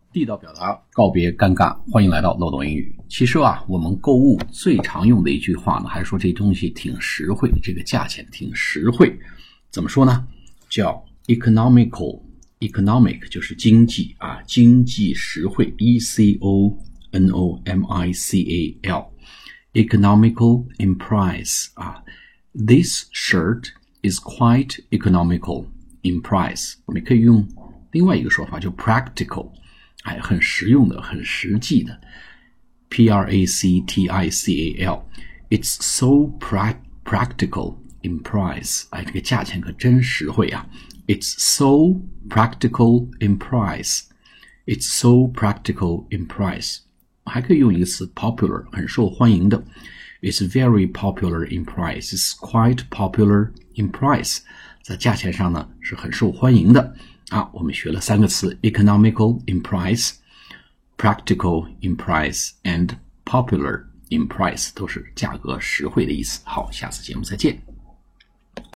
地道表达，告别尴尬，欢迎来到漏斗英语。其实我们购物最常用的一句话呢，还是说这东西挺实惠，这个价钱挺实惠。怎么说呢？叫 economic 就是经济经济实惠 economical economical in price This shirt is quite economical in price. 我们可以用另外一个说法，就 practical，很实用的，很实际的 practical It's so practical in price. 这个价钱可真实惠It's so practical in price. It's so practical in price. 还可以用一个词 popular， 很受欢迎的 It's very popular in price. It's quite popular in price. 在价钱上呢是很受欢迎的我们学了3个词 economical in price, practical in price, and popular in price 都是价格实惠的意思。好，下次节目再见。